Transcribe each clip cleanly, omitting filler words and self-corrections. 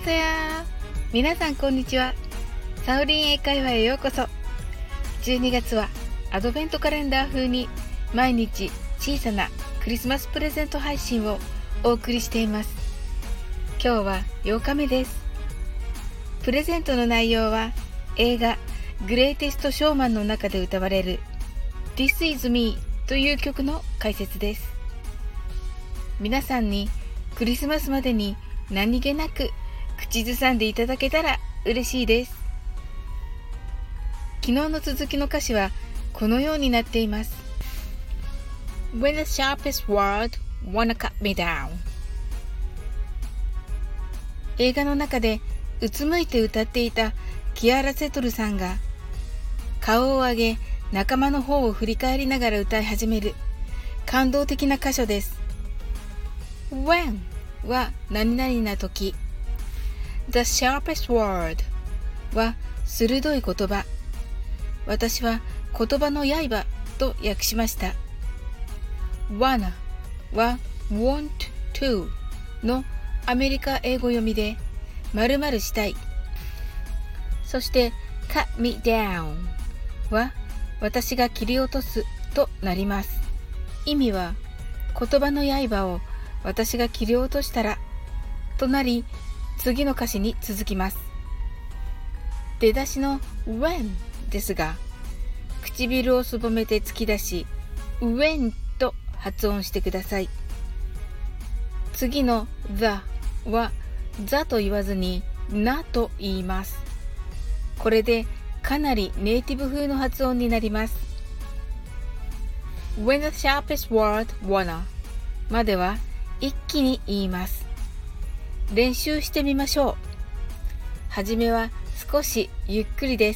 せや。皆さんこんにちは。サオリン英会話へようこそ。12月はアドベントカレンダー風に毎日小さなクリスマスプレゼント配信をお送りしています。今日は8日目です。プレゼントの内容は映画グレイテストショーマンの中で歌われる This is me という曲の解説です。皆さんにクリスマスまでに何気なく口ずさんでいただけたら嬉しいです。昨日の続きの歌詞はこのようになっています。When the sharpest word wanna cut me down。 映画の中でうつむいて歌っていたキアラ・セトルさんが顔を上げ仲間の方を振り返りながら歌い始める感動的な箇所です。When は何々な時、The sharpest word は鋭い言葉。私は言葉の刃と訳しました。Wanna は want to のアメリカ英語読みで〇〇したい。そして cut me down は私が切り落とすとなります。意味は言葉の刃を私が切り落としたらとなり、次の歌詞に続きます。出だしの when ですが、唇をすぼめて突き出し when と発音してください。次の the は the と言わずに なと言います。これでかなりネイティブ風の発音になります。When the sharpest word wanna までは一気に言います。練習してみましょう。はじめは少しゆっくりです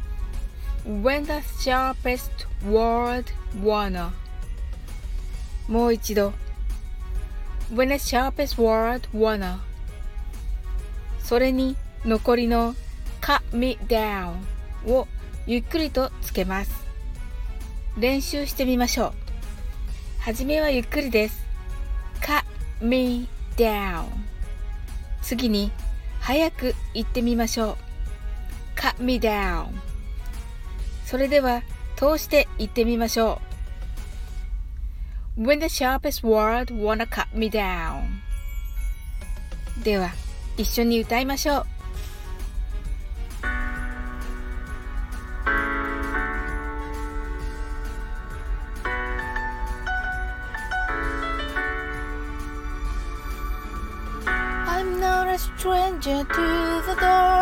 。When the sharpest word wanna もう一度 When the sharpest word wanna それに残りの cut me down をゆっくりとつけます。練習してみましょう。はじめはゆっくりです。cut me down 次に早く言ってみましょう。cut me down それでは通して言ってみましょう。When the sharpest word wanna cut me down では一緒に歌いましょう。I'm not a stranger to the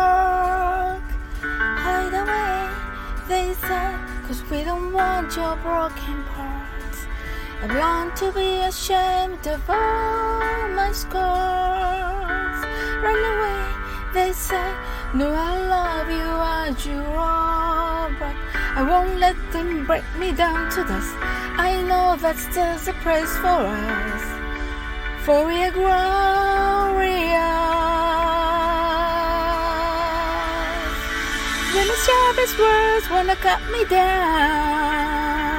dark. Hide away, they say, 'cause we don't want your broken parts. I want to be ashamed of all my scars. Run away, they say, no, I love you as you are, but I won't let them break me down to dust. I know that's just a place for us, for we are glorious. When the sharpest words wanna cut me down.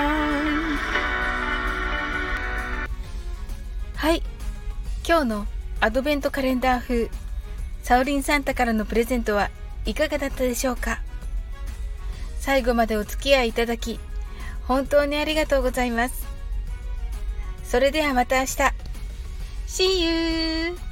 はい、今日のアドベントカレンダー風サオリンサンタからのプレゼントはいかがだったでしょうか。最後までお付き合いいただき本当にありがとうございます。それではまた明日。See you!